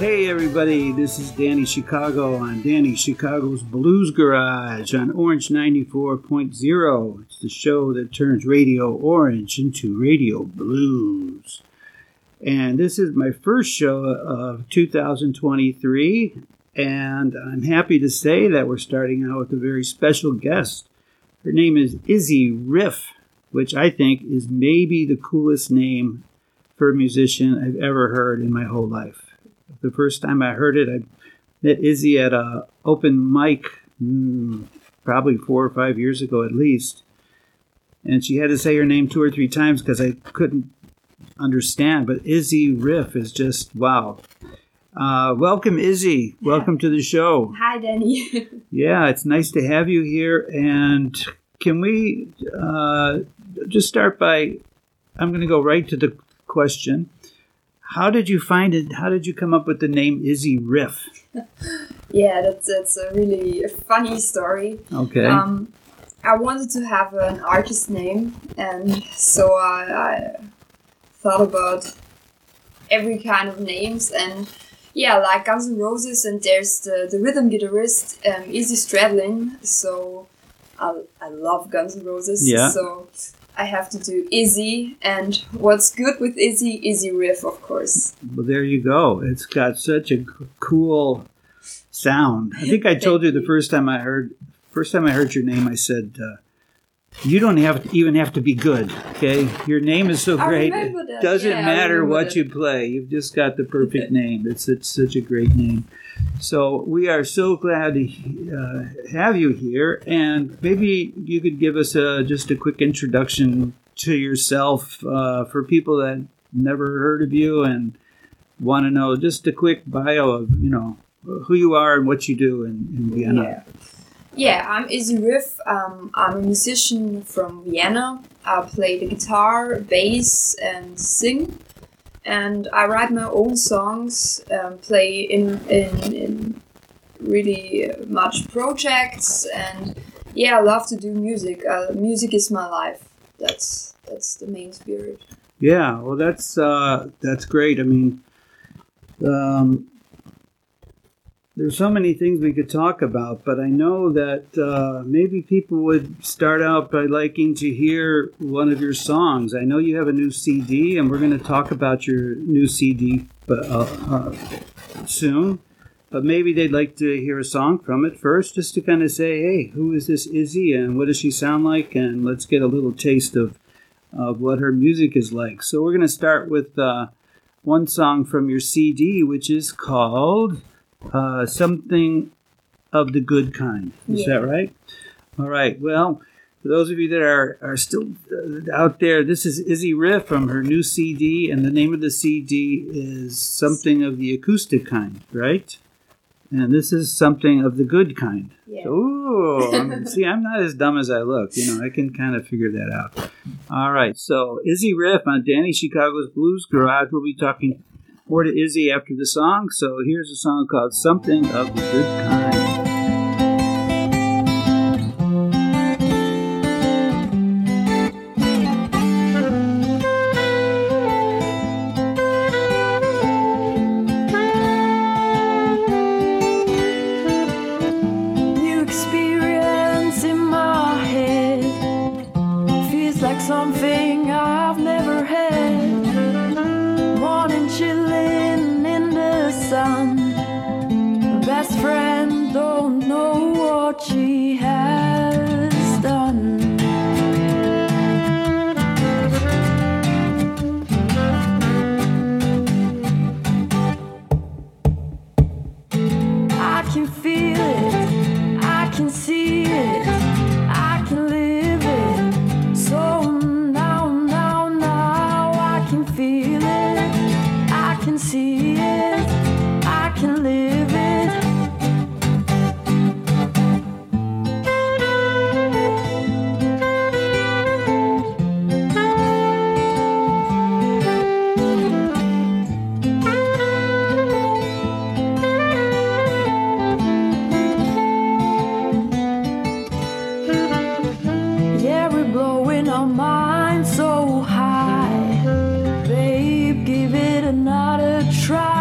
Hey everybody, this is Danny Chicago on Danny Chicago's Blues Garage on Orange 94.0. It's the show that turns Radio Orange into Radio Blues. And this is my first show of 2023, and I'm happy to say that we're starting out with a very special guest. Her name is Izzy Riff, which I think is maybe the coolest name for a musician I've ever heard in my whole life. The first time I heard it, I met Izzy at an open mic probably 4 or 5 years ago at least. And she had to say her name 2 or 3 times because I couldn't understand. But Izzy Riff is just, wow. Welcome, Izzy. Welcome to the show. Hi, Danny. Yeah, it's nice to have you here. And can we just start by, I'm going to go right to the question. How did you find it? How did you come up with the name Izzy Riff? Yeah, that's a really funny story. Okay. I wanted to have an artist name, and so I thought about every kind of names, and yeah, like Guns N' Roses, and there's the rhythm guitarist Izzy Stradlin. So I love Guns N' Roses. Yeah. So I have to do Izzy, and what's good with Izzy Riff, of course. Well, there you go. It's got such a cool sound. I think I told you the first time I heard your name, I said, you don't even have to be good, okay? Your name is so great. It doesn't matter what you play. You've just got the perfect name. It's such a great name. So we are so glad to have you here, and maybe you could give us just a quick introduction to yourself for people that never heard of you and want to know just a quick bio of who you are and what you do in Vienna. Yeah, I'm Izzy Riff. I'm a musician from Vienna. I play the guitar, bass, and sing. And I write my own songs, play in really much projects, and yeah, I love to do music. Music is my life. That's the main spirit. Yeah, well, that's great. I mean, there's so many things we could talk about, but I know that maybe people would start out by liking to hear one of your songs. I know you have a new CD, and we're going to talk about your new CD soon, but maybe they'd like to hear a song from it first, just to kind of say, hey, who is this Izzy, and what does she sound like, and let's get a little taste of what her music is like. So we're going to start with one song from your CD, which is called Something of the Good Kind. Is that right? All right. Well, for those of you that are still out there, this is Izzy Riff from her new CD, and the name of the CD is Something of the Acoustic Kind, right? And this is Something of the Good Kind. Yeah. Ooh, see, I'm not as dumb as I look. I can kind of figure that out. All right. So Izzy Riff on Danny Chicago's Blues Garage. We'll be talking more to Izzy after the song. So here's a song called Something of the Good Kind. New experience in my head, feels like something I've never had. Morning chilling in the sun, my best friend don't know what she has done. I can feel it, I can see it, I can live it. So now I can feel it, I can see it, I can live it. Yeah, we're blowing our minds so high. Babe, give it another try.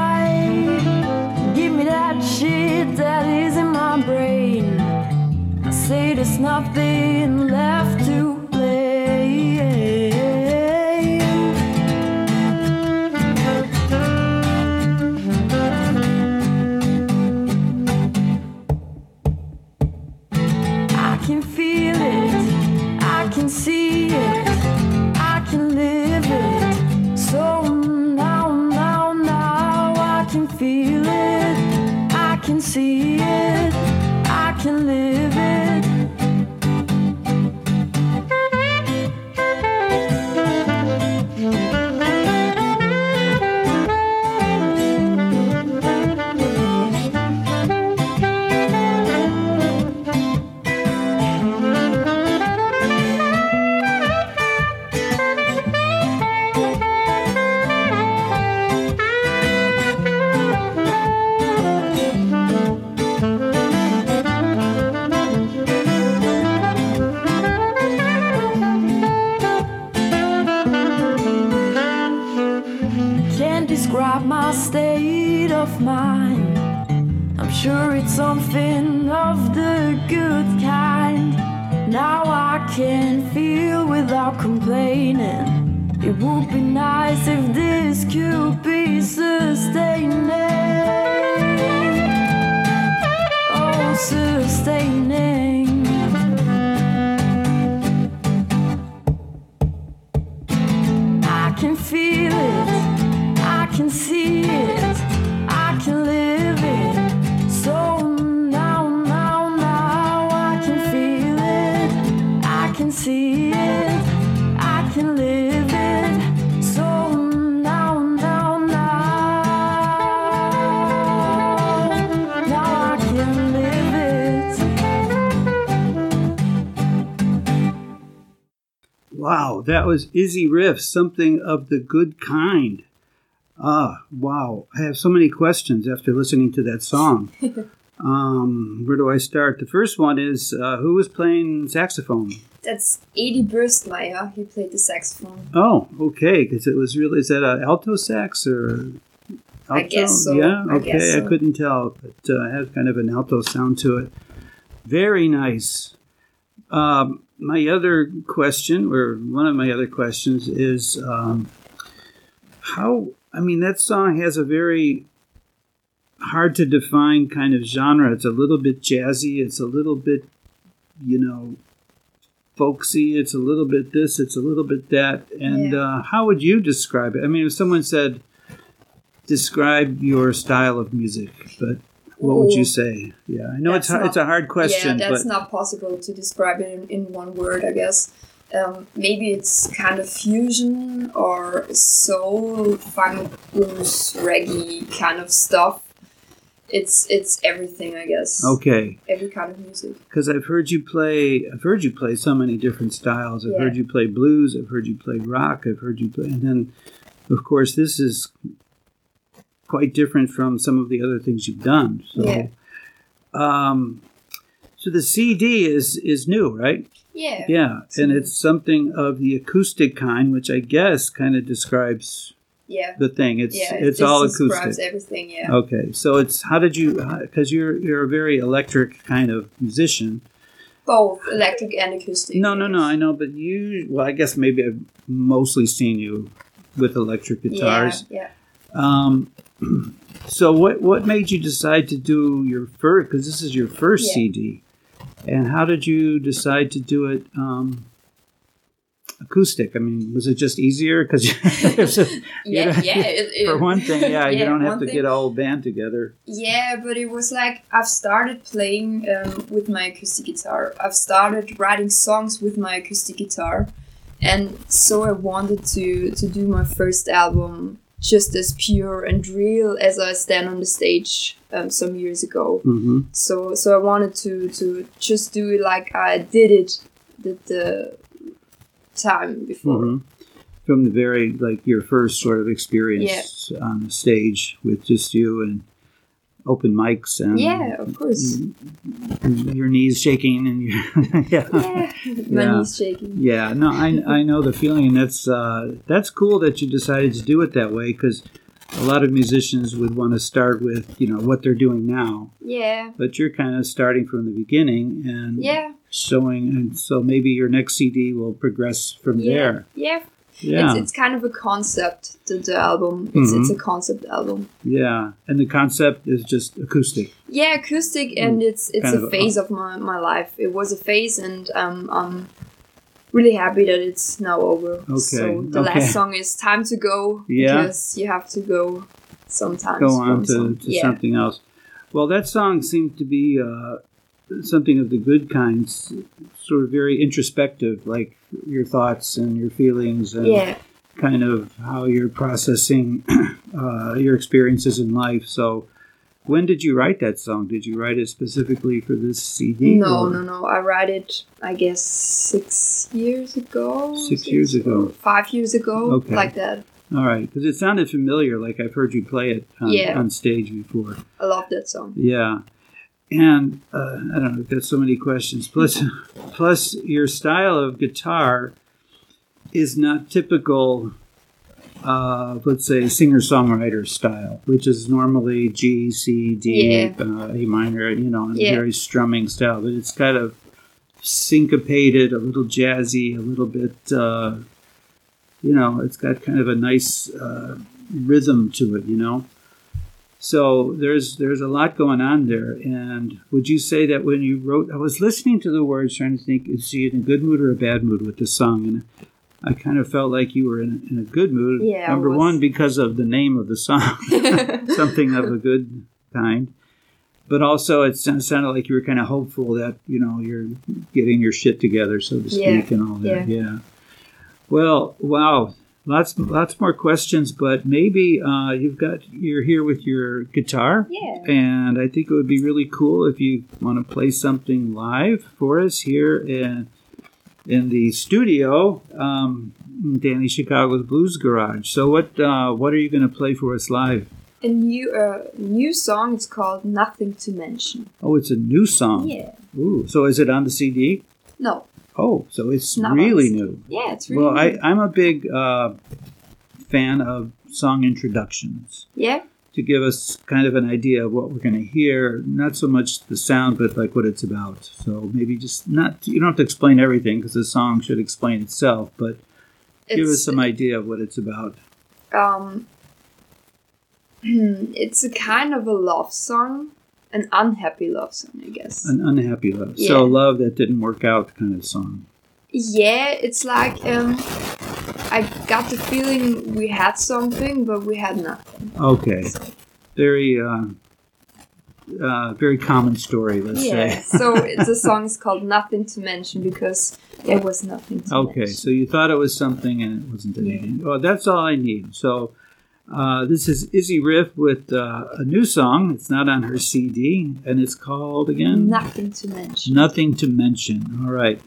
describe my state of mind. I'm sure it's something of the good kind. Now I can feel without complaining. It would be nice if this could be sustaining. Oh, sustaining. I can feel it, I can see it, I can live it. So now I can feel it, I can see it, I can live it. So now I can live it. Wow, that was Izzy Riff, Something of the Good Kind. Wow. I have so many questions after listening to that song. Where do I start? The first one is, who was playing saxophone? That's Edi Bürstmeier. He played the saxophone. Oh, okay. Because it was really, is that an alto sax or alto? I guess so. Yeah, I okay. guess so. I couldn't tell, but it had kind of an alto sound to it. Very nice. My other question, or one of my other questions, is that song has a very hard to define kind of genre. It's a little bit jazzy. It's a little bit, folksy. It's a little bit this. It's a little bit that. And how would you describe it? I mean, if someone said, describe your style of music, but what would you say? Yeah, I know it's a hard question. Yeah, that's not possible to describe it in one word, I guess. Maybe it's kind of fusion or soul, funk, blues, reggae kind of stuff. It's everything, I guess. Okay. Every kind of music. Because I've heard you play so many different styles. I've heard you play blues. I've heard you play rock. I've heard you play, and then, of course, this is quite different from some of the other things you've done. So, so the CD is new, right? Yeah. Yeah, and it's something of the acoustic kind, which I guess kind of describes the thing. It's all acoustic. Describes everything. Yeah. Okay, so it's because you're a very electric kind of musician. Both electric and acoustic. No, I know, but I guess maybe I've mostly seen you with electric guitars. Yeah. So what made you decide to do your first? Because this is your first CD, and how did you decide to do it acoustic? I mean, was it just easier because for one thing, you don't have to get a whole band together. Yeah, but it was like I've started playing with my acoustic guitar. I've started writing songs with my acoustic guitar, and so I wanted to do my first album just as pure and real as I stand on the stage some years ago. Mm-hmm. So I wanted to just do it like I did it the time before. Mm-hmm. From the very, your first sort of experience on the stage with just you and open mics and of course, and your knees shaking and my knees shaking. Yeah, no, I know the feeling, and that's cool that you decided to do it that way, because a lot of musicians would want to start with what they're doing now. Yeah. But you're kind of starting from the beginning and showing, and so maybe your next CD will progress from there. Yeah. Yeah. It's kind of a concept, the album. It's a concept album. Yeah, and the concept is just acoustic. Yeah, acoustic, and it's a phase of my life. It was a phase, and I'm really happy that it's now over. Okay. So the last song is Time to Go, because you have to go sometimes. Go on to something else. Well, that song seemed to be something of the good kind, sort of very introspective, like your thoughts and your feelings and kind of how you're processing your experiences in life. So when did you write that song? Did you write it specifically for this CD? No. I wrote it, I guess, 6 years ago. 6 years ago. 5 years ago, okay. Like that. All right, because it sounded familiar, like I've heard you play it on stage before. I love that song. Yeah. And I don't know, I've got so many questions. Plus, your style of guitar is not typical let's say, singer-songwriter style, which is normally G, C, D, A minor, and very strumming style. But it's kind of syncopated, a little jazzy, a little bit, it's got kind of a nice rhythm to it, So there's a lot going on there. And would you say that when you wrote, I was listening to the words trying to think, is she in a good mood or a bad mood with the song? And I kind of felt like you were in a good mood. Yeah, Number one, because of the name of the song, something of a good kind. But also it sounded like you were kind of hopeful that, you're getting your shit together, so to speak, and all that. Yeah. Well, wow. Lots more questions, but maybe you're here with your guitar. Yeah. And I think it would be really cool if you want to play something live for us here in the studio, Danny Chicago's Blues Garage. So what are you going to play for us live? A new song. It's called Nothing to Mention. Oh, it's a new song. Yeah. Ooh, so is it on the CD? No. Oh, so it's really new. Yeah, it's really new. I'm a big fan of song introductions. Yeah. To give us kind of an idea of what we're going to hear, not so much the sound, but like what it's about. So maybe you don't have to explain everything because the song should explain itself, but give us some idea of what it's about. It's a kind of a love song, an unhappy love song, I guess. An unhappy love. Yeah. So love that didn't work out kind of song. Yeah, it's like I got the feeling we had something, but we had nothing. Okay. Very, very common story, let's say. Yeah, so the song is called Nothing to Mention because there was nothing to mention. Okay, so you thought it was something and it wasn't anything. Well, that's all I need. So this is Izzy Riff with a new song. It's not on her CD, and it's called, again? Nothing to Mention. Nothing to Mention. All right.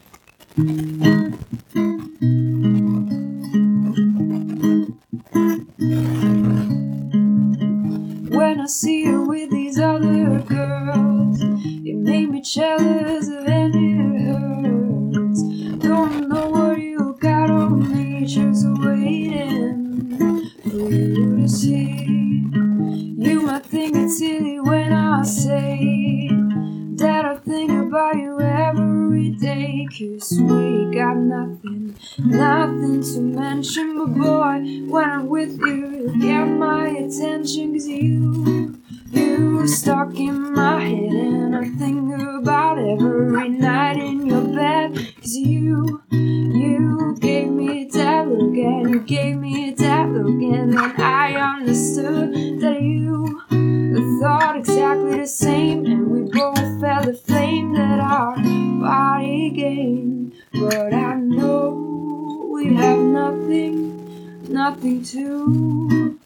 When I see you with these other girls, it made me jealous of any hurts. Don't know what you got on me, just waiting for you to see. You might think it's silly when I say that I think about you every day, 'cause we got nothing to mention. But boy, when I'm with you, you get my attention, 'cause you stuck in my head, and I think about every night in your bed. 'Cause you gave me that look, and you gave me that look, and then I understood that you thought exactly the same, and we both felt the flame that our body gained. But I know we have nothing to.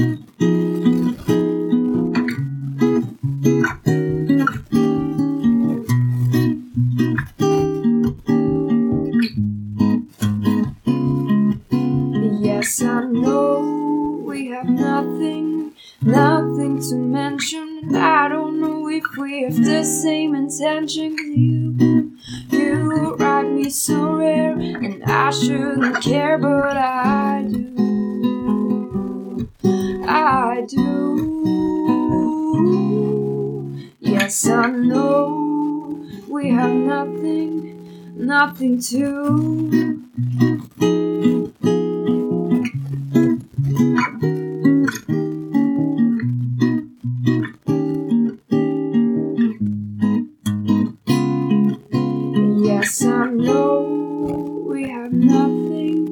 Yes, I know we have nothing to mention, and I don't know if we have the same intention. 'Cause you write me so rare, and I shouldn't care, but I do. Yes, I know we have nothing to. Yes, I know we have nothing.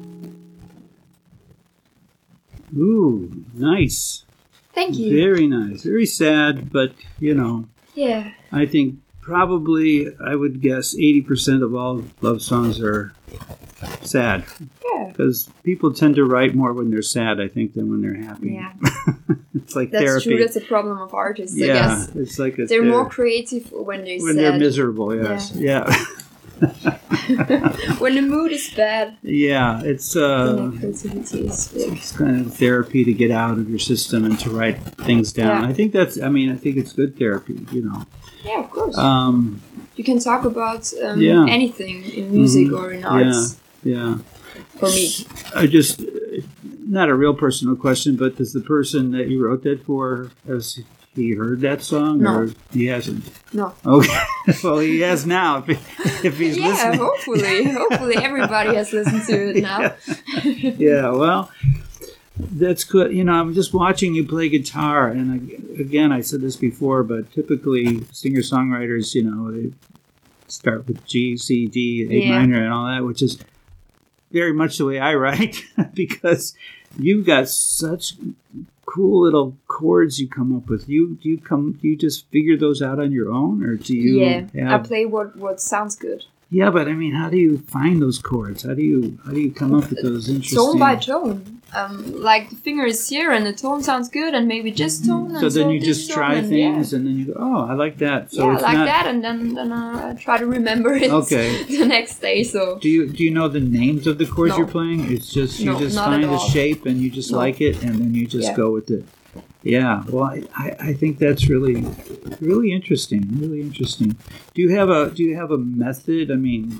Ooh, nice. Thank you. Very nice. Very sad, but, Yeah. I think probably, I would guess, 80% of all love songs are sad. Yeah. Because people tend to write more when they're sad, I think, than when they're happy. Yeah. It's like That's therapy. true. That's a problem of artists, I Yeah, guess. it's like They're more creative when they're sad. they're miserable, yes. Yeah. When the mood is bad, Yeah, it's then the creativity is big. it's kind of therapy to get out of your system and to write things down. Yeah. I think it's good therapy, Yeah, of course. You can talk about Yeah. anything in music or in arts. Yeah. For me. I just not a real personal question, but does the person that you wrote that for, has he heard that song? No. Or he hasn't? No. Okay. Well, he has now. If he's Yeah, listening. hopefully everybody has listened to it now. Yeah, well, that's good. You know, I'm just watching you play guitar, and again, I said this before, but typically singer-songwriters, you know, they start with G, C, D, A Yeah. minor, and all that, which is very much the way I write, because you've got such cool little chords you come up with. Do you just figure those out on your own, or do you? Yeah, I have, play what sounds good. yeah, but I mean, how do you find those chords? How do you come up with those interesting? Tone by tone. Like the finger is here and the tone sounds good, and maybe just tone. So and then you this just tone, try and things, and then you go, oh, I like that. So yeah, it's like not, that, and then I try to remember it Okay. the next day. So Do you know the names of the chords No. you're playing? It's just you No, just not find at a all. shape and you just No. like it, and then you just Yeah. go with it. Yeah, well, I think that's really interesting. Really interesting. Do you have a method? I mean,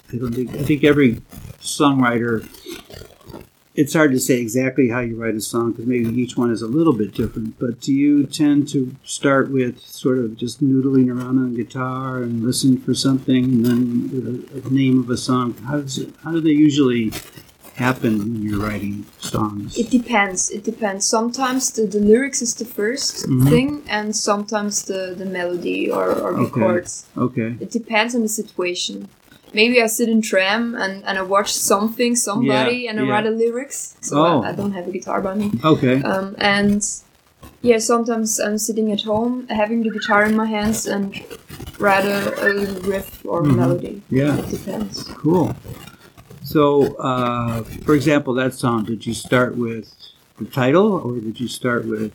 I think every songwriter. It's hard to say exactly how you write a song because maybe each one is a little bit different. But do you tend to start with sort of just noodling around on guitar and listen for something, and then the name of a song? How do they usually happen when you're writing songs? it depends. It depends. Sometimes the lyrics is the 1st Mhm. thing, and sometimes the melody or the Okay. chords. Okay. It depends on the situation. Maybe I sit in tram and I watch somebody, Yeah, and I yeah. write the lyrics. So Oh. I don't have a guitar by me. Okay. And yeah, sometimes I'm sitting at home, having the guitar in my hands, and write a little riff or Mhm. melody. Yeah. It depends. Cool. So, for example, that song, did you start with the title or did you start with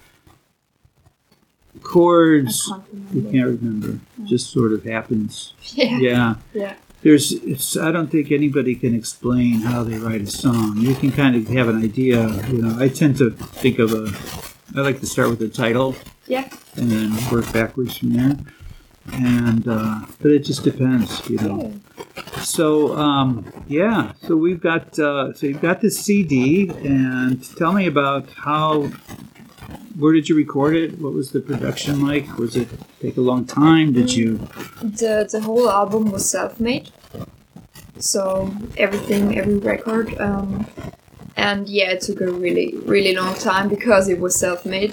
chords? I can't You remember. can't remember. Just sort of happens. Yeah. Yeah. Yeah. I don't think anybody can explain how they write a song. You can kind of have an idea. You know, I tend to think of I like to start with the title Yeah. and then work backwards from there. And, but it just depends, you know. So, so we've got, so you've got this CD, and tell me about where did you record it? What was the production like? Was it take a long time? Did you? The whole album was self-made. So every record. And yeah, it took a really, really long time because it was self-made.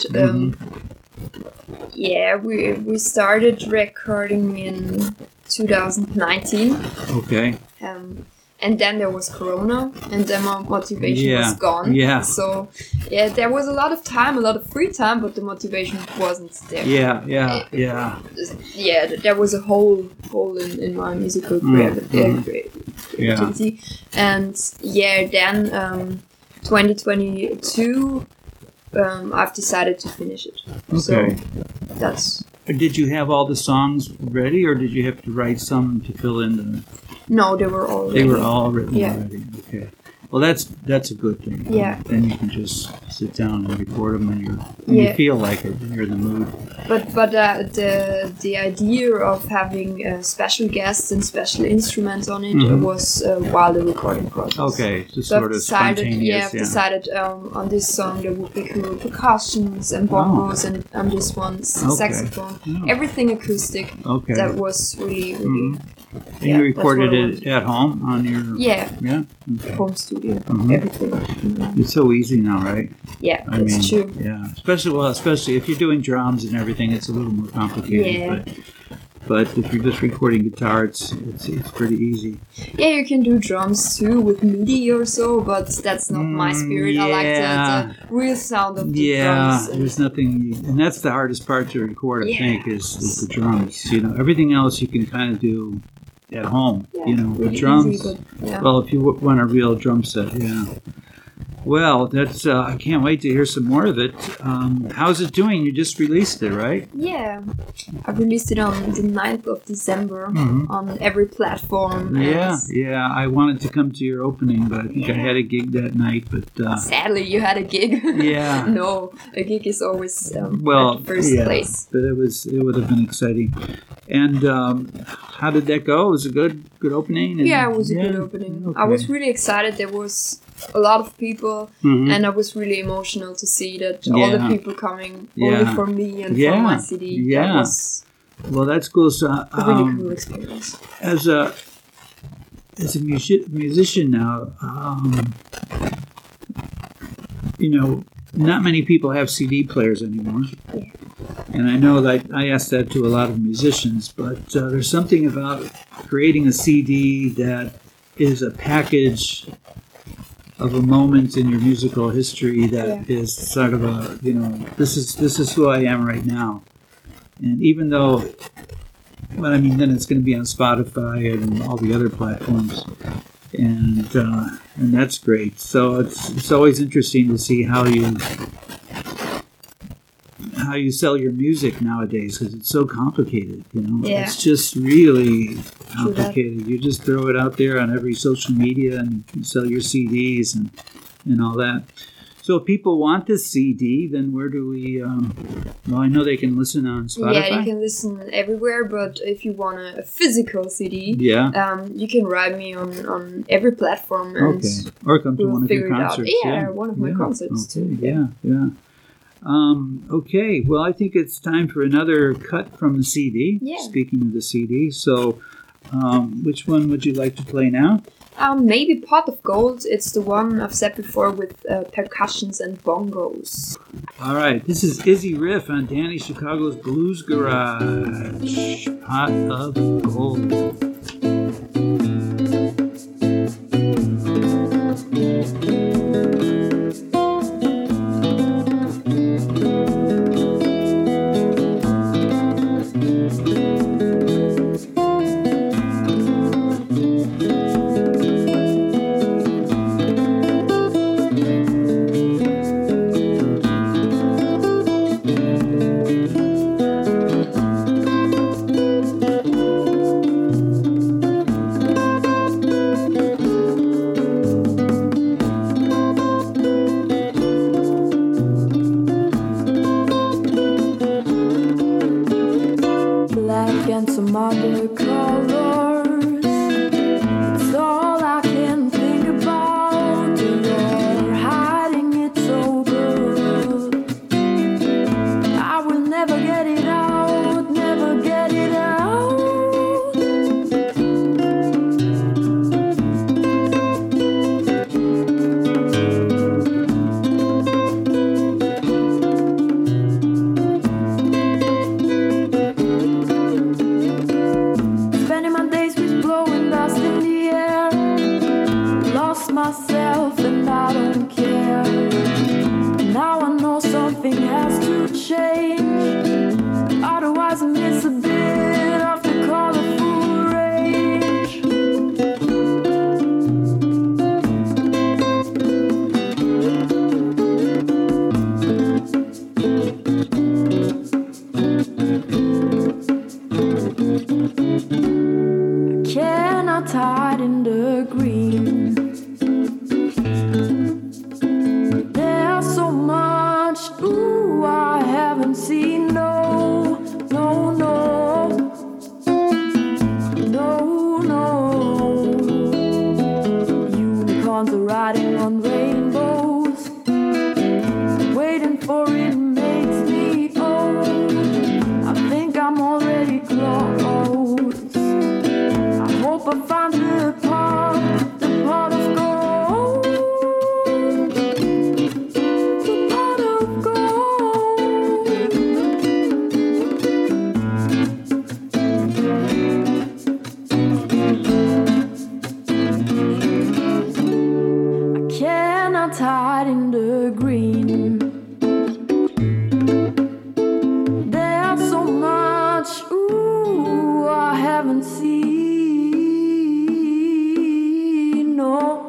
Yeah, we started recording in 2019. Okay. And then there was Corona, and then my motivation Yeah, was gone. yeah. So, yeah, there was a lot of time, a lot of free time, but the motivation wasn't there. Yeah. Yeah, there was a hole in my musical creativity. And yeah, then 2022, I've decided to finish it. So Okay. that's... Did you have all the songs ready, or did you have to write some to fill in the? No, they were all They were ready. all written Yeah. already. Okay. Well, that's a good thing. Yeah. Then you can just sit down and record them when you Yeah. feel like it, when you're in the mood. But the idea of having special guests and special instruments on it Mhm. was while the recording process. Okay, just So I've sort of decided, spontaneous. I've decided on this song there would be cool percussions and bongos, and on this one saxophone, Oh. everything acoustic. Okay. That was really Mhm. And yeah, you that's recorded what I it at home on your. Yeah, Yeah. Okay. home studio, Mhm. everything. It's so easy now, right? Yeah, I that's mean, true. yeah. Especially if you're doing drums and everything, it's a little more complicated. Yeah. But if you're just recording guitar, it's pretty easy. Yeah, you can do drums too with MIDI or so, but that's not my spirit. I like yeah. the real sound of the Yeah, drums. there's nothing, and that's the hardest part to record. I Yeah. think is the drums. You know, everything else you can kind of do at home. Yeah, You know, really the drums. easy, but yeah. Well, if you want a real drum set, yeah. Well, that's. I can't wait to hear some more of it. How's it doing? You just released it, right? Yeah, I released it on the 9th of December Mhm. on every platform. Yeah, and yeah. I wanted to come to your opening, but I think I had a gig that night. But sadly, you had a gig. Yeah. No, a gig is always well, at the first yeah, place. but it would have been exciting. And how did that go? It was a good opening. And- Yeah, it was a good opening. I okay. was really excited. There was a lot of people, Mhm. and I was really emotional to see that all the Yeah. people coming Yeah. only for me and Yeah. for my CD. Yeah. That was Well, that's cool. So, a really cool experience. as a musician now, not many people have CD players anymore. Yeah. And I know that I asked that to a lot of musicians, but there's something about creating a CD that is a package of a moment in your musical history that is sort of a, this is who I am right now. And even though, then it's going to be on Spotify and all the other platforms, and that's great. So it's always interesting to see how you sell your music nowadays, because it's so complicated. Yeah. It's just really complicated. You just throw it out there on every social media and you sell your CDs and all that. So if people want this CD, then where do we? I know they can listen on Spotify. Yeah, you can listen everywhere, but if you want a physical CD, you can write me on every platform and or come to we'll one of your figure it out. concerts. Yeah, one of my concerts too. Yeah. Okay, well, I think it's time for another cut from the CD. Yeah. Speaking of the CD, so which one would you like to play now? Maybe Pot of Gold. It's the one I've said before with percussions and bongos. All right, this is Izzy Riff on Danny Chicago's Blues Garage. Pot of Gold. Black and some other colors. It's all I can think about. You're hiding it so good. I will never get it out, never get it out. Spending my days with blowing dust in the air. Lost myself and I don't care. Now I know something has to change. Otherwise I miss a bit of the colorful range. Cannot hide in the green. There's so much, ooh, I haven't seen. No, no, no, no, no. Unicorns are riding on rainbows. Waiting for it makes me old. I think I'm already close. I hope I find the pot of gold. The pot of gold. I cannot hide in the green. There's so much, ooh, I haven't seen. No.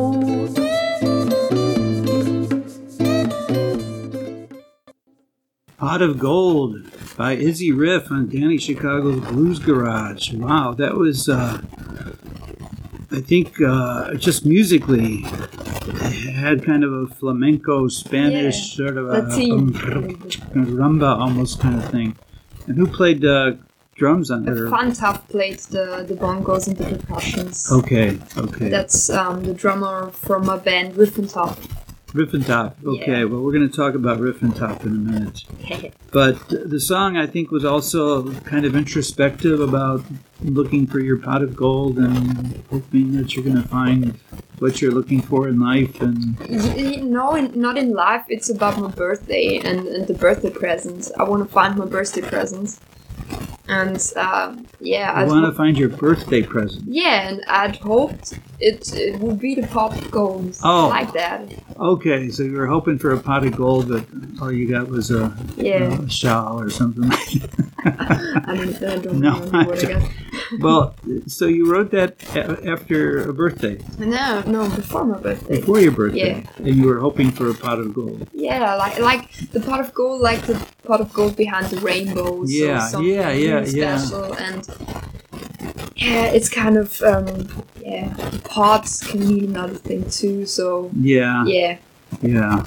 Pot of Gold by Izzy Riff on Danny Chicago's Blues Garage. Wow, that was, I think, just musically, it had kind of a flamenco, Spanish, sort of a Latin. rumba almost kind of thing. And who played drums on it? Fun Tough played the bongos and the percussions. Okay. That's the drummer from my band Riff and Top. Riff and Top. Okay, Yeah. well, we're going to talk about Riff and Top in a minute. But the song, I think, was also kind of introspective about looking for your pot of gold and hoping that you're going to find what you're looking for in life. And No, not in life. It's about my birthday and the birthday presents. I want to find my birthday presents. And yeah, you want to find your birthday present. yeah, and I'd hoped it would be the pop of gold, Oh. like that. Okay, so you were hoping for a pot of gold, but all you got was a shawl or something like that. I don't No, remember what I got. Well, so you wrote that after a birthday, No, before my birthday. before your birthday, Yeah. and you were hoping for a pot of gold. Yeah, like the pot of gold, like the pot of gold behind the rainbow. Yeah, so something yeah, really special, and yeah, it's kind of pots can mean another thing too. So Yeah. yeah,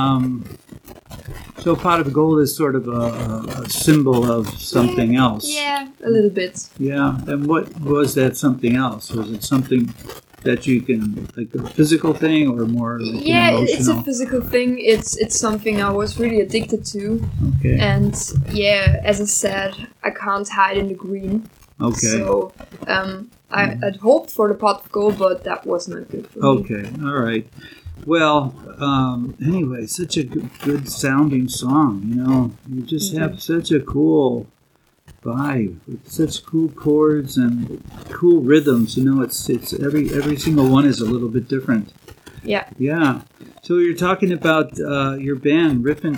So a pot of gold is sort of a symbol of something else. yeah, a little bit. Yeah. And what was that something else? Was it something that you can, like a physical thing or more like Yeah, an it's a emotional? physical thing. It's something I was really addicted to, Okay. and yeah, as I said, I can't hide in the green. Okay. So I'd hoped for the pot of gold, but that was not good for me. Okay. All right. Well, anyway, such a good sounding song, you know. You just have such a cool vibe with such cool chords and cool rhythms, you know. It's every single one is a little bit different. Yeah. Yeah. So you're talking about your band, Riffin'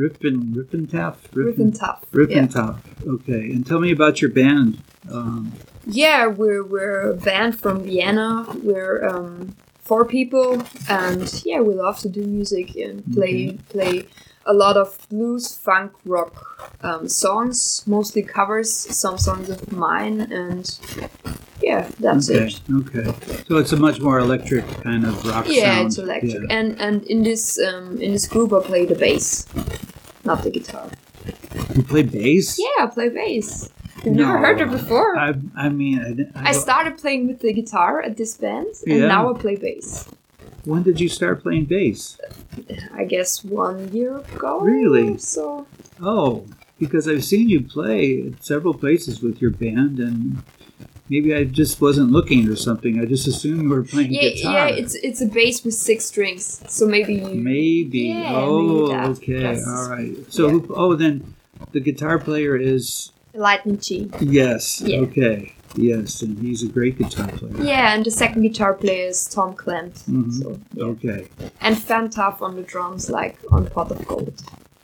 Taff? Riff and Tough. Riffin' Taff. Okay. And tell me about your band. Yeah, we're a band from Vienna. We're 4 people, and yeah, we love to do music and play a lot of blues, funk, rock songs, mostly covers, some songs of mine, and yeah, that's it. Okay. So it's a much more electric kind of rock sound. Yeah, it's electric, Yeah. and in this group, I play the bass, not the guitar. You play bass? Yeah, I play bass. You've never heard it before. I mean, I started playing with the guitar at this band, and Yeah. now I play bass. When did you start playing bass? I guess 1 year ago. Really? So Oh, because I've seen you play at several places with your band, and maybe I just wasn't looking or something. I just assumed you were playing guitar. yeah, it's a bass with 6 strings. So maybe you. Maybe. Yeah, Oh, maybe that. okay. That's- All right. So, yeah. then the guitar player is Lightning G. yes. Yeah. Okay. Yes, and he's a great guitar player. Yeah, and the second guitar player is Tom Clement. Mhm. So yeah. Okay. And Fan Tough on the drums, like on Pot of Gold.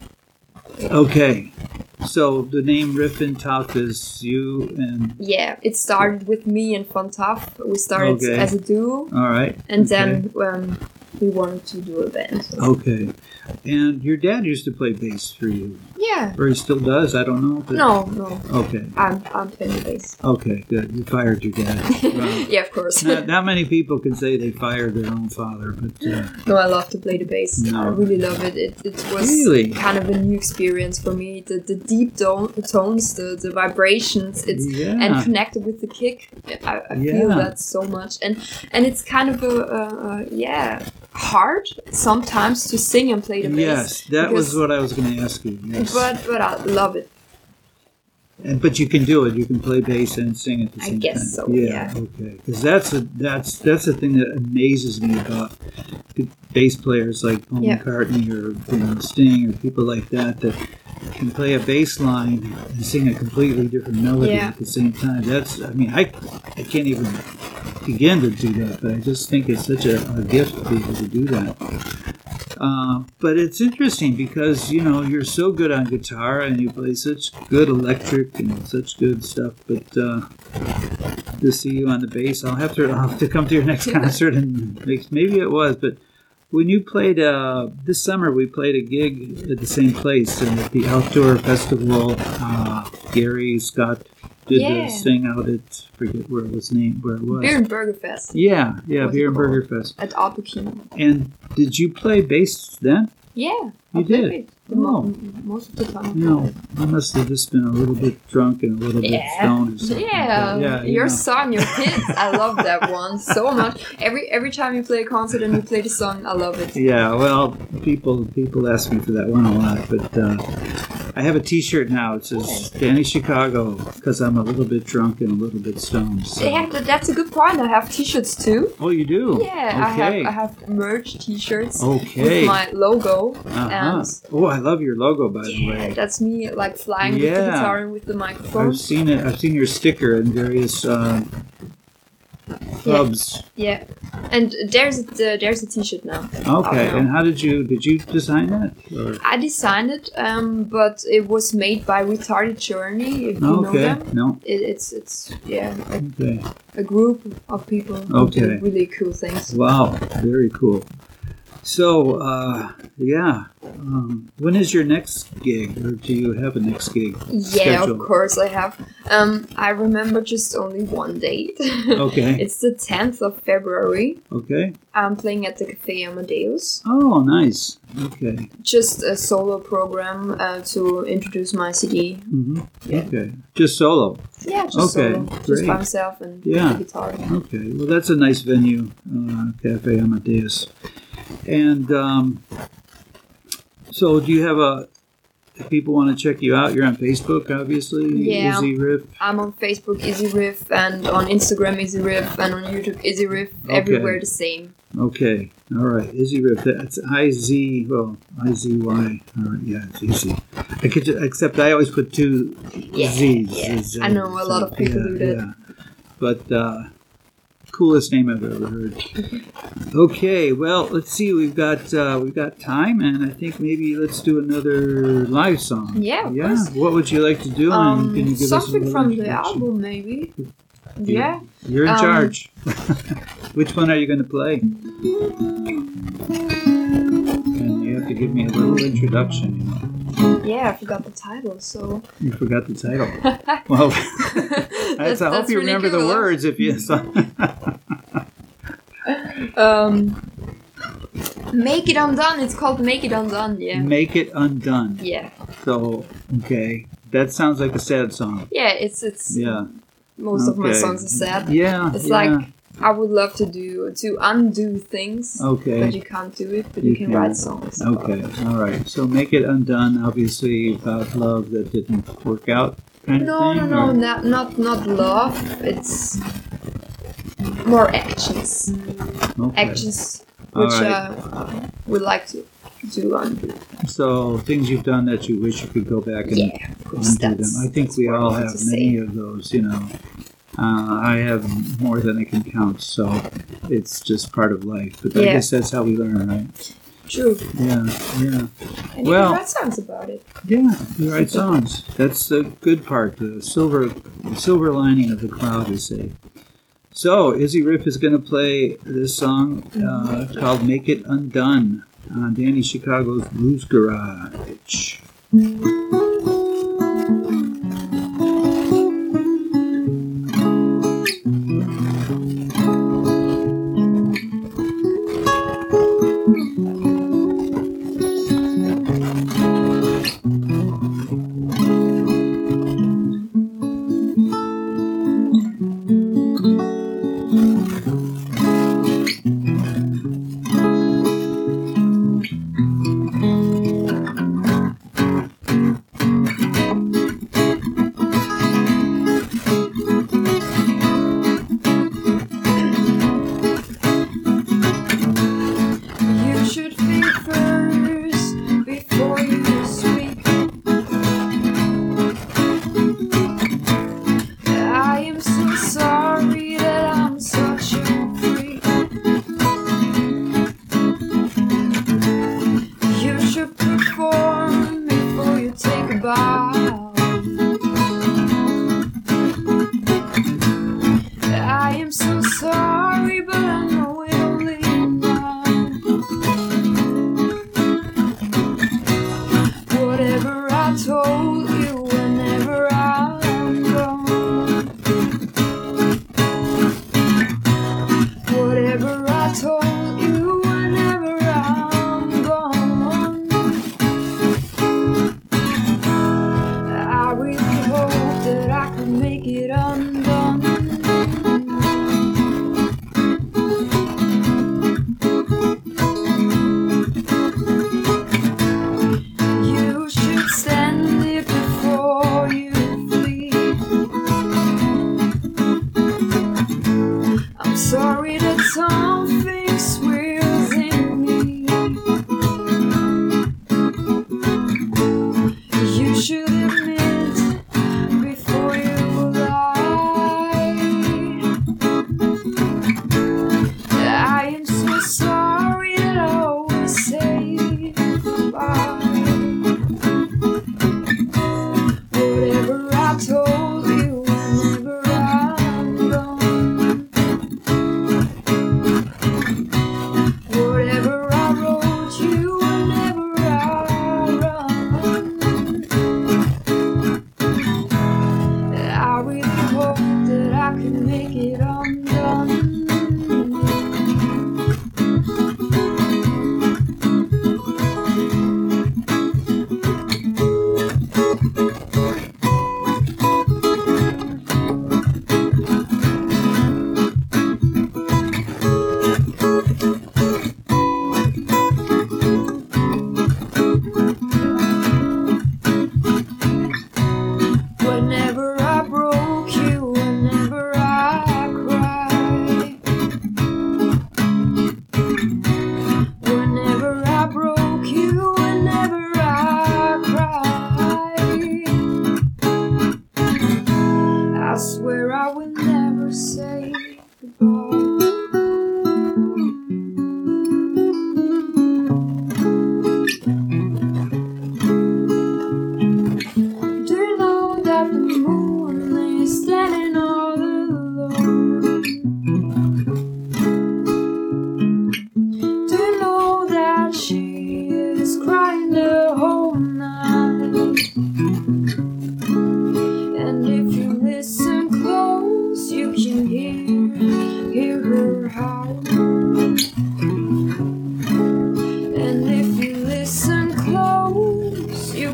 Okay. So the name Riffin' Tough is you and Yeah, it started with me and Fan Tough. We started Okay. as a duo, all right. and Okay. then we wanted to do a band. So. Okay. And your dad used to play bass for you, Yeah. or he still does. I don't know. But No. Okay. I'm playing the bass. Okay. Good. You fired your dad. Well, Yeah, of course. not many people can say they fired their own father, but No, I love to play the bass. No. I really love it. It was Really? kind of a new experience for me. The deep tones, the vibrations, it's Yeah. and connected with the kick. I feel Yeah. that so much, and it's kind of a hard sometimes to sing and play the bass. yes, that was because- what I was going to ask you. Yes. But I love it. But you can do it. You can play bass and sing at the I same time. guess so, yeah. Okay. Because that's the thing that amazes me about the bass players like Paul Yeah. McCartney or Sting or people like that can play a bass line and sing a completely different melody Yeah. at the same time. I can't even begin to do that, but I just think it's such a gift to be able to do that. But it's interesting because, you know, you're so good on guitar and you play such good electric and such good stuff. But to see you on the bass, I'll have to come to your next concert and maybe it was. But when you played this summer, we played a gig at the same place and at the outdoor festival. Gary Scott did Yeah. this thing out at forget where it was. Beer and Burger Fest Yeah, What's Beer it and called? Burger Fest. at Alpekino. And did you play bass then? Yeah, You I played did? it Oh. most of the time. No, I must have just been a little bit drunk and a little bit stoned. Or something. Yeah, Yeah, you your know. song, your hits. I love that one so much. Every time you play a concert and you play the song, I love it. Yeah, well, people ask me for that one a lot, but I have a T-shirt now. It says Danny Chicago because I'm a little bit drunk and a little bit stoned. So. Yeah, that's a good point. I have T-shirts too. Oh, you do? Yeah, Okay. I have merch T-shirts Okay. with my logo, Uh-huh. and Oh, I love your logo, by the way. that's me like flying with the Yeah. guitar and with the microphone. I've seen it. I've seen your sticker in various clubs. Yeah, and there's a T-shirt now. Okay. Oh, no. And how did you design that? Or? I designed it, but it was made by Retarded Journey. If you know Okay. them, No. it's yeah, Okay. a group of people who do Okay. really cool things. Wow. Very cool. So, yeah. When is your next gig, or do you have a next gig? Yeah, scheduled? of course I have. I remember just only one date. Okay. It's the 10th of February. Okay. I'm playing at the Café Amadeus. Oh, nice. Okay. Just a solo program to introduce my CD. Mm-hmm. Yeah. Okay. Just solo. Yeah, just Okay, solo. Just great. by myself and Yeah. the guitar. Okay. Well, that's a nice venue, Cafe Amadeus. And so, do you have if people want to check you out, you're on Facebook, obviously. Yeah. Izzy Riff. I'm on Facebook, Izzy Riff, and on Instagram, Izzy Riff, and on YouTube, Izzy Riff. Everywhere the same. Okay. All right. Izzy Riff. That's IZY. All right. Yeah, it's easy. Except I always put two Z's. Yeah. I know a lot of people do that. Yeah. But coolest name I've ever heard. Okay. Well, let's see. We've got time, and I think maybe let's do another live song. Yeah, of course. What would you like to do? And can you give us a Something little from the introduction? album, maybe. Yeah. You're in charge. Which one are you going to play? And you have to give me a little introduction. You know. Yeah, I forgot the title, so. You forgot the title. Well, I hope you really remember the cool. words if you. Make It Undone. It's called Make It Undone. Yeah. Make It Undone. Yeah. So, okay. That sounds like a sad song. Yeah. It's. Yeah. Most of my Okay. songs are sad. Yeah. It's yeah. like I would love to undo things. Okay. But you can't do it. But you can write songs. Okay. All right. So, Make It Undone, obviously about love that didn't work out kind No, of thing? no, or- not love. It's more actions. Okay. Actions All which right. would like to undo. So, things you've done that you wish you could go back and Yeah, of course. undo them. I think that's we what all I want have to many say. of those, you know. I have more than I can count, so it's just part of life. But I Yeah. guess that's how we learn, right? True. Yeah, yeah. And Well- you can write songs about it. Yeah, you write songs. That's the good part, the silver lining of the cloud, we say. So, Izzy Riff is going to play this song called Make It Undone on Danny Chicago's Blues Garage. You should think first before you speak. I am so sorry that I'm such a freak. You should perform before you take a bow. I am so sorry, but I know it only now. Whatever I told you whenever I'm gone. Whatever I told you whenever I'm gone.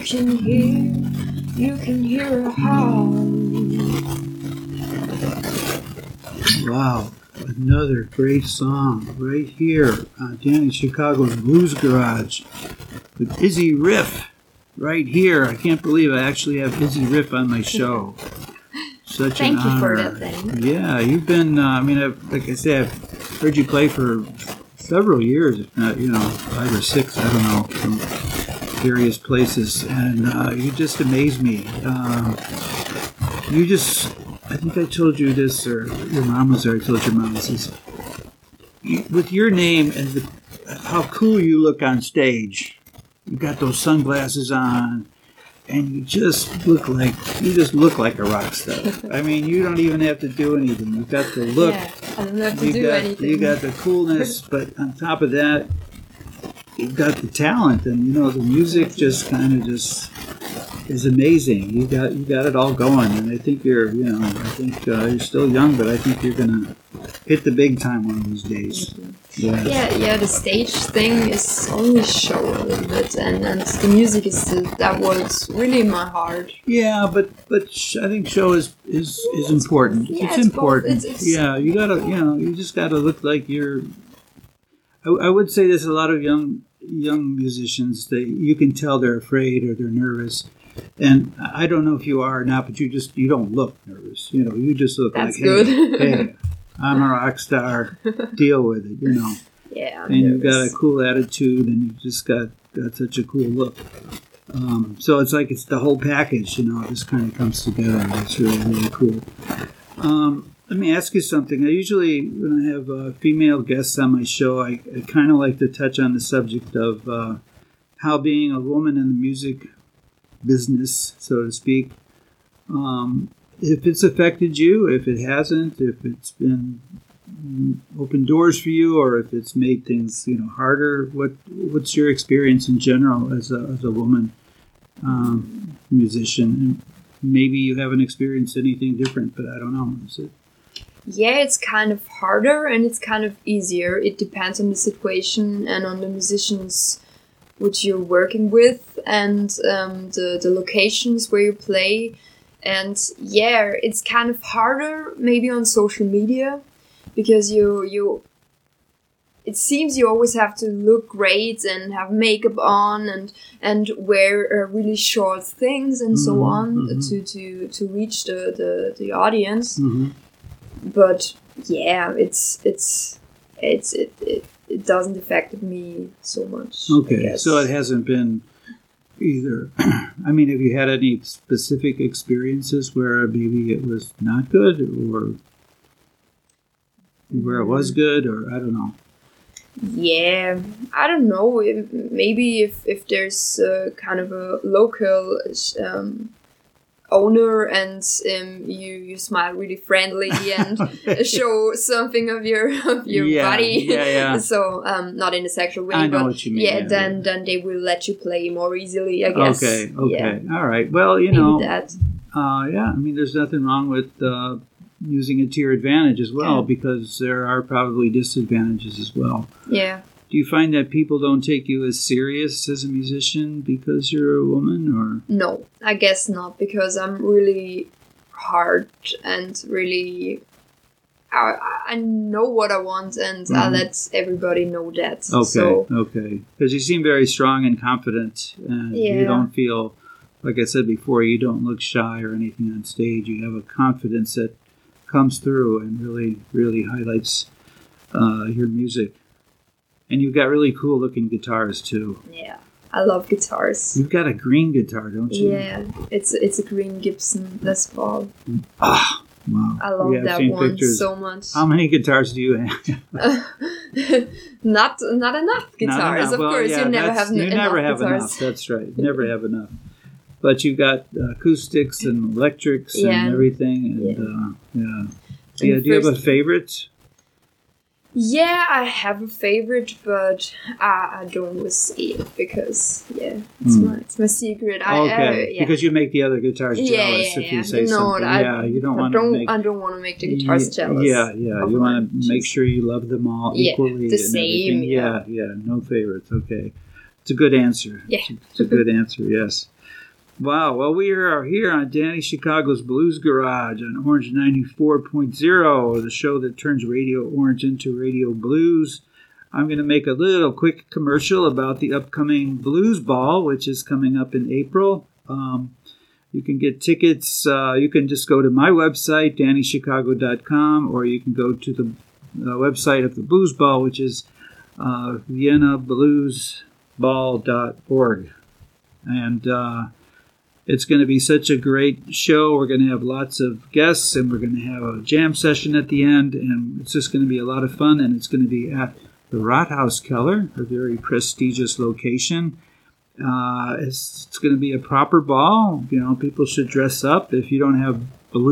can hear her heart. Wow, another great song right here on Danny Chicago's Blues Garage with Izzy Riff right here. I can't believe I actually have Izzy Riff on my show. Such Thank an you honor. for that, then. Yeah, you've been, like I said, I've heard you play for several years, if not, 5 or 6, I don't know, from various places, and you just amaze me. I think I told you this, or your mom was there, I told your mom this, with your name and how cool you look on stage, you got those sunglasses on, and you just look like a rock star. I mean, you don't even have to do anything. You've got the look. Yeah, I don't have to do anything. You got the coolness, but on top of that, you've got the talent, and the music just kind of just is amazing. You got it all going, and I think you're still young, but I think you're gonna hit the big time one of these days. Yeah. The stage thing is only show a little bit, and the music that was really in my heart. Yeah, but I think show is important. Yeah, it's important. It's you gotta you just gotta look like you're. I would say there's a lot of young musicians that you can tell they're afraid or they're nervous. And I don't know if you are or not, but you don't look nervous. You just look That's like, good. hey, I'm a rock star. Deal with it, Yeah, and you've got a cool attitude, and you just got such a cool look. So it's like it's the whole package, it just kind of comes together. It's really, really cool. Let me ask you something. I usually, when I have female guests on my show, I kind of like to touch on the subject of how being a woman in the music business, so to speak, if it's affected you, if it hasn't, if it's been open doors for you, or if it's made things harder. What's your experience in general as a woman musician? And maybe you haven't experienced anything different, but I don't know. Is it? Yeah, it's kind of harder and it's kind of easier. It depends on the situation and on the musicians which you're working with, and the locations where you play. And yeah, it's kind of harder maybe on social media, because it seems you always have to look great and have makeup on and wear really short things and so on to reach the audience. Mm-hmm. But yeah, it doesn't affect me so much. Okay, so it hasn't been either. I mean, have you had any specific experiences where maybe it was not good, or where it was good, or I don't know? Yeah, I don't know. Maybe if there's kind of a local owner and you smile really friendly and show something of your body. Yeah. So not in a sexual way, I know but what you mean. yeah, then they will let you play more easily, I guess. Okay. Yeah. All right. Well, Maybe that. yeah. I mean, there's nothing wrong with using it to your advantage as well, because there are probably disadvantages as well. Yeah. Do you find that people don't take you as serious as a musician because you're a woman, or? No, I guess not, because I'm really hard and really... I know what I want, and I let everybody know that. Okay. Because you seem very strong and confident, and you don't feel, like I said before, you don't look shy or anything on stage. You have a confidence that comes through and really, really highlights your music. And you've got really cool looking guitars too. Yeah, I love guitars. You've got a green guitar, don't you? Yeah, it's a green Gibson Les Paul. Ah, wow. I love that one pictures. So much. How many guitars do you have? Not enough guitars, of course. Yeah, you never have enough. Enough. That's right. You never have enough. But you've got acoustics and electrics and everything. And do you have a favorite? Yeah, I have a favorite, but I don't always say it because it's my secret. Because you make the other guitars jealous if you say something. You don't want to make. I don't want to make the guitars jealous. You want to make sure you love them all equally. The same. No favorites. Okay. It's a good answer. Yeah. It's a good answer, yes. Wow. Well, we are here on Danny Chicago's Blues Garage on Orange 94.0, the show that turns Radio Orange into Radio Blues. I'm going to make a little quick commercial about the upcoming Blues Ball, which is coming up in April. You can get tickets. You can just go to my website, DannyChicago.com, or you can go to the website of the Blues Ball, which is VienaBluesBall.org. And it's going to be such a great show. We're going to have lots of guests, and we're going to have a jam session at the end, and it's just going to be a lot of fun, and it's going to be at the Rathaus Keller, a very prestigious location. It's going to be a proper ball. You know, people should dress up. If you don't have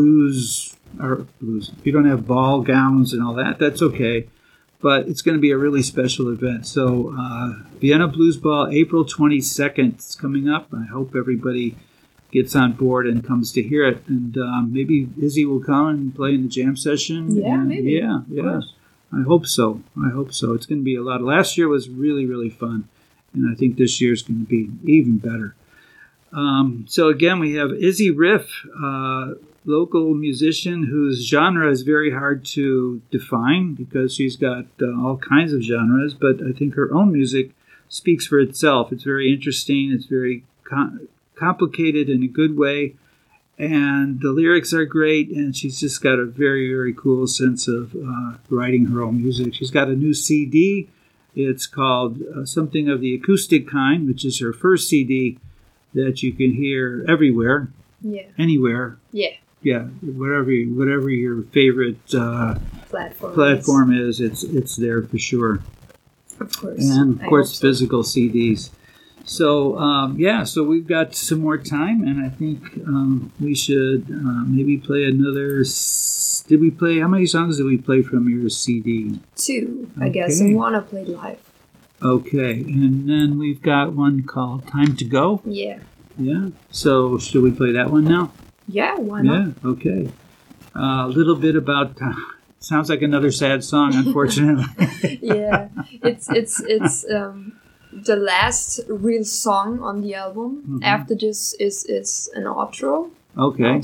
if you don't have ball gowns and all that, that's okay. But it's going to be a really special event. So Vienna Blues Ball, April 22nd is coming up. I hope everybody gets on board and comes to hear it. And maybe Izzy will come and play in the jam session. Yeah, maybe. Yeah. I hope so. It's going to be a lot. Last year was really, really fun. And I think this year's going to be even better. So again, we have Izzy Riff, local musician whose genre is very hard to define because she's got all kinds of genres, but I think her own music speaks for itself. It's very interesting. It's very complicated in a good way, and the lyrics are great, and she's just got a very, very cool sense of writing her own music. She's got a new CD. It's called Something of the Acoustic Kind, which is her first CD that you can hear everywhere. Yeah. Anywhere. Yeah. Yeah, whatever your favorite platform is, it's there for sure. Of course. And of course, physical CDs. So so we've got some more time, and I think we should maybe play another. How many songs did we play from your CD? 2, I guess, and 1 I played live. Okay, and then we've got one called Time to Go. Yeah. Yeah. So should we play that one now? Yeah, why not? Yeah, okay. A little bit about... sounds like another sad song, unfortunately. Yeah, it's the last real song on the album. Mm-hmm. After this is an outro. Okay.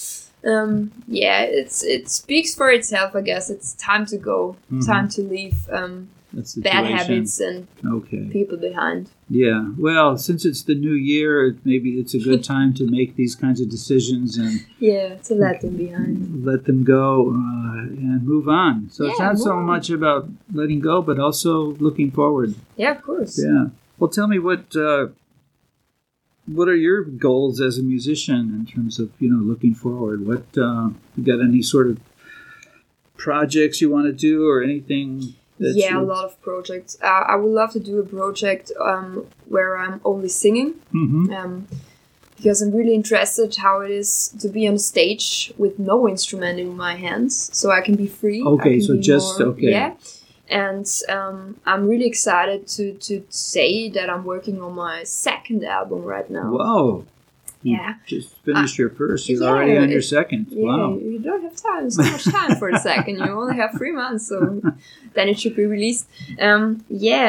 It speaks for itself, I guess. It's time to go, time to leave bad habits and people behind. Yeah, well, since it's the new year, maybe it's a good time to make these kinds of decisions and to let them behind, let them go, and move on. So it's not so much about letting go, but also looking forward. Yeah, of course. Yeah. Well, tell me what are your goals as a musician in terms of looking forward? What you got any sort of projects you want to do or anything? A lot of projects. I would love to do a project where I'm only singing, because I'm really interested how it is to be on stage with no instrument in my hands, so I can be free. Okay, so just Yeah, and I'm really excited to say that I'm working on my second album right now. Whoa. Yeah. Just finished your first. You're already on your second. Yeah, wow. You don't have so much time for a second. You only have 3 months, so then it should be released. And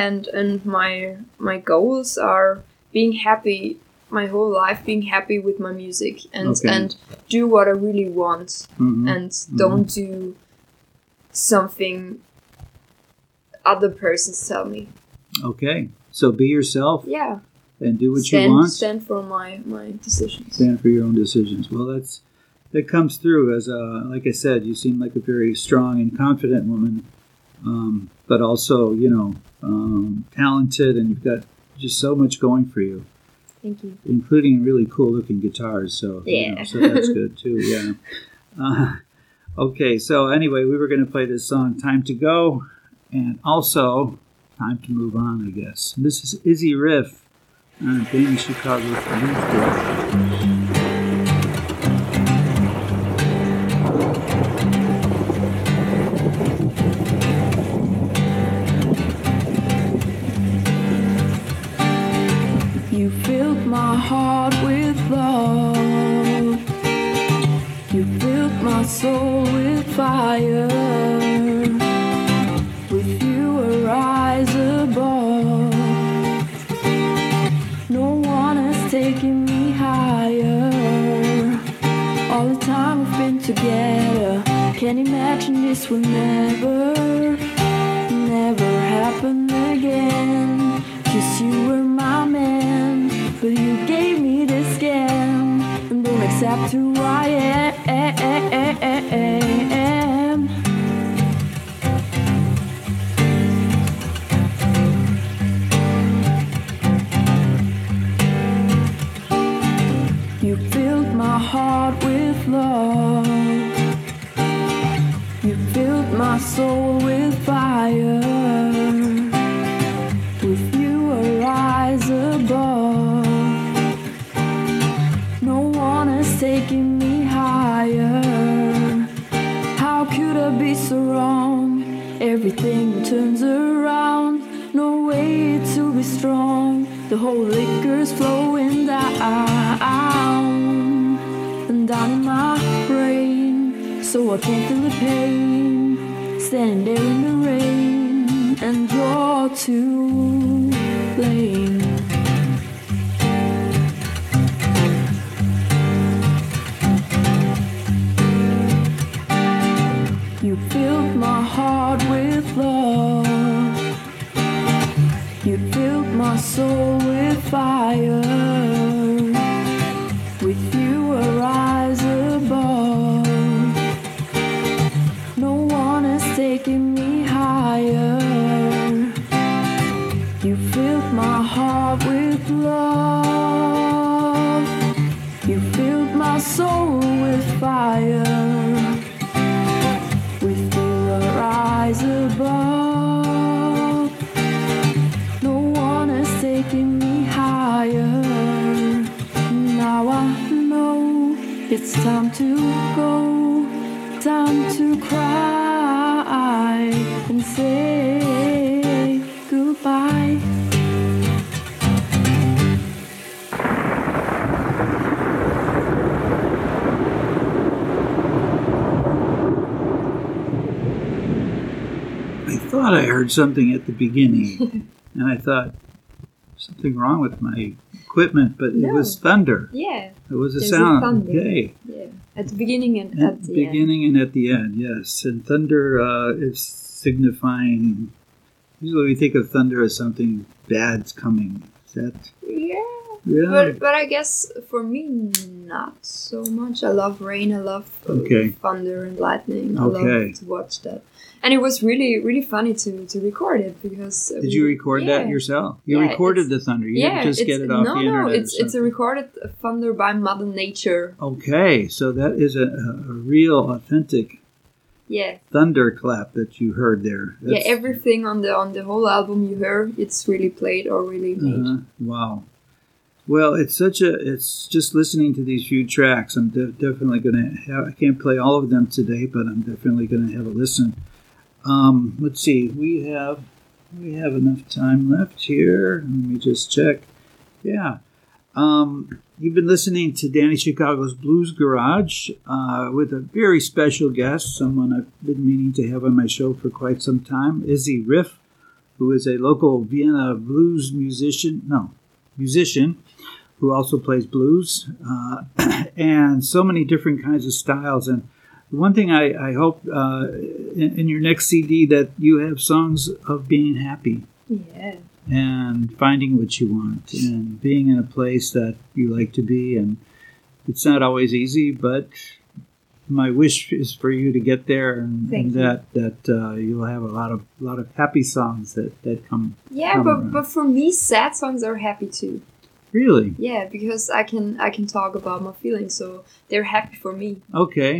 my goals are being happy my whole life, being happy with my music and do what I really want and don't do something other persons tell me. Okay. So be yourself. Yeah. And do what you want. Stand for my decisions. Stand for your own decisions. Well, that comes through as like I said, you seem like a very strong and confident woman, but also talented, and you've got just so much going for you. Thank you. Including really cool looking guitars. So so that's good too. Yeah. Okay. So anyway, we were going to play this song "Time to Go," and also "Time to Move On." I guess and this is Izzy Riff. Danny Chicago's Blues Garage. You filled my heart with love. You filled my soul with fire. With you, I rise above. fire. All the time we've been together, can't imagine this will never happen again. 'Cause you were my man, but you gave me this scam and don't accept who I am. You filled my heart with love. You filled my soul with fire. With you I rise above. No one is taking me higher. How could I be so wrong? Everything turns around. No way to be strong. The whole liquor's flowing down and down in my brain, so I can't feel the pain. Standing there in the rain, and you're to blame. You filled my heart with love. You filled my soul with fire. With you I rise above. No one is taking me higher. You filled my heart with love. You filled my soul with fire. With you I rise above. No one is taking me higher. Now I know it's time to go, time to cry and say goodbye. I thought I heard something at the beginning, and I thought, something wrong with my equipment, but it No. was thunder. Yeah, It was a There's a sound. thunder. Okay. yeah. At the beginning and At at the the beginning and at the end, yes. And thunder is signifying. Usually, we think of thunder as something bad's coming. Is that? end. Yeah. Yeah. But I guess for me, not so much. I love rain. I love Okay. thunder and lightning. I Okay. love to watch that. And it was really, really funny to record it because. Did you record that yourself? You Yeah, recorded it's- the thunder. You didn't just get it off no, the internet. No, or it's a something. recorded thunder by Mother Nature. Okay, so that is a real, authentic Yeah, thunderclap that you heard there. yeah. Everything on the whole album you hear, it's really played or really made. Wow. Well, it's just listening to these few tracks. I'm definitely going to have, I can't play all of them today, but I'm definitely going to have a listen. Let's see, we have enough time left here. Let me just check. Yeah. You've been listening to Danny Chicago's Blues Garage with a very special guest, someone I've been meaning to have on my show for quite some time, Izzy Riff, who is a local Vienna blues musician who also plays blues, and so many different kinds of styles. And one thing I hope in your next CD that you have songs of being happy Yeah. and finding what you want and being in a place that you like to be. And it's not always easy, but my wish is for you to get there and Thank you. that you'll have a lot of happy songs that come. Yeah, come but around. but for me, sad songs are happy too. Really? Yeah, because I can talk about my feelings, so they're happy for me. Okay.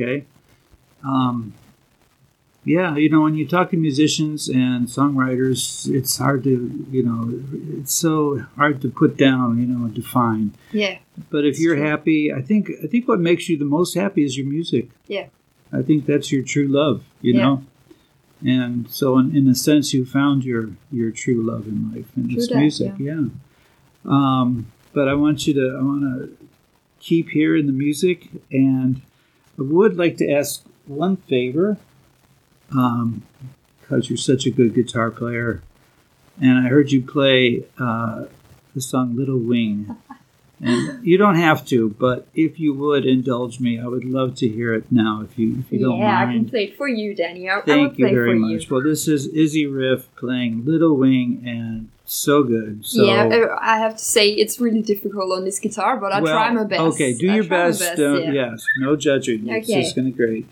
Yeah, when you talk to musicians and songwriters, it's hard to, it's so hard to put down, and define. Yeah, But if It's you're true. happy, I think what makes you the most happy is your music. Yeah. I think that's your true love, you Yeah. know. And so, in a sense, you found your true love in life, and it's True that, music. Yeah. But I want to keep hearing the music, and I would like to ask one favor, because you're such a good guitar player, and I heard you play the song "Little Wing." And you don't have to, but if you would indulge me, I would love to hear it now if you don't mind. Yeah, I can play it for you, Danny. I will Thank you play very for much. You. Well, this is Izzy Riff playing Little Wing, and so good. So, Yeah, I have to say it's really difficult on this guitar, but I try my best. Okay, do your best. Yeah. Yes, no judging. It's Okay. just going to be great.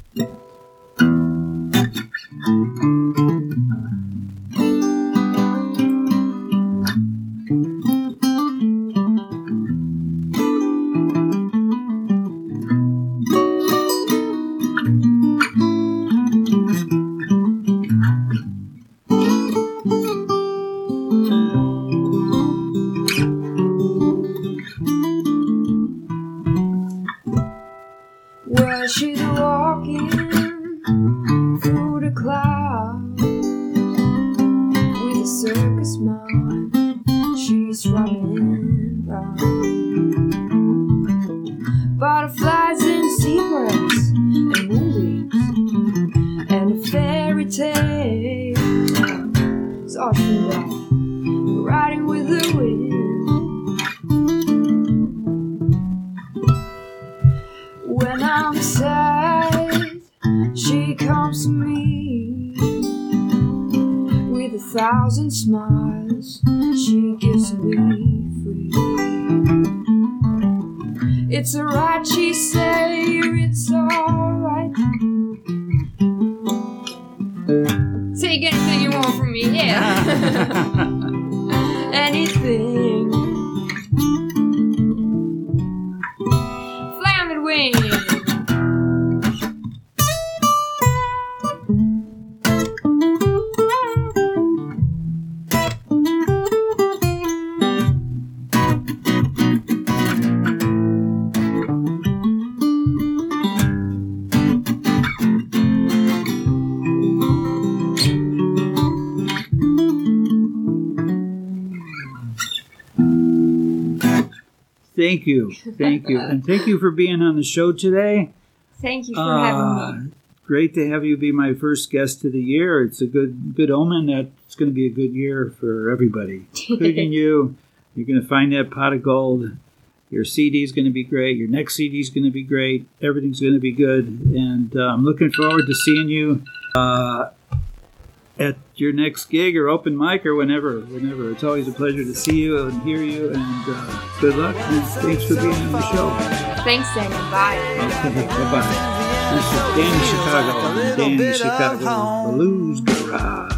Well, she's walking through the clouds with a circus mind. She's running round. Butterflies and zebras and moonbeams and a fairy tale. It's often down, riding with the wind. When I'm sad, she comes to me with 1,000 smiles. She gives me free. It's alright, she say, it's alright. Take anything you want from me, yeah. Anything. Fly on the wing. Thank you. And thank you for being on the show today. Thank you for having me. Great to have you be my first guest of the year. It's a good omen that it's going to be a good year for everybody, including you. You're going to find that pot of gold. Your CD is going to be great. Your next CD is going to be great. Everything's going to be good. And I'm looking forward to seeing you at your next gig or open mic or whenever. It's always a pleasure to see you and hear you. And good luck. And thanks for being on the show. Thanks, Daniel. Bye. Okay, bye-bye. This is Danny Chicago. Danny Chicago Blues Garage.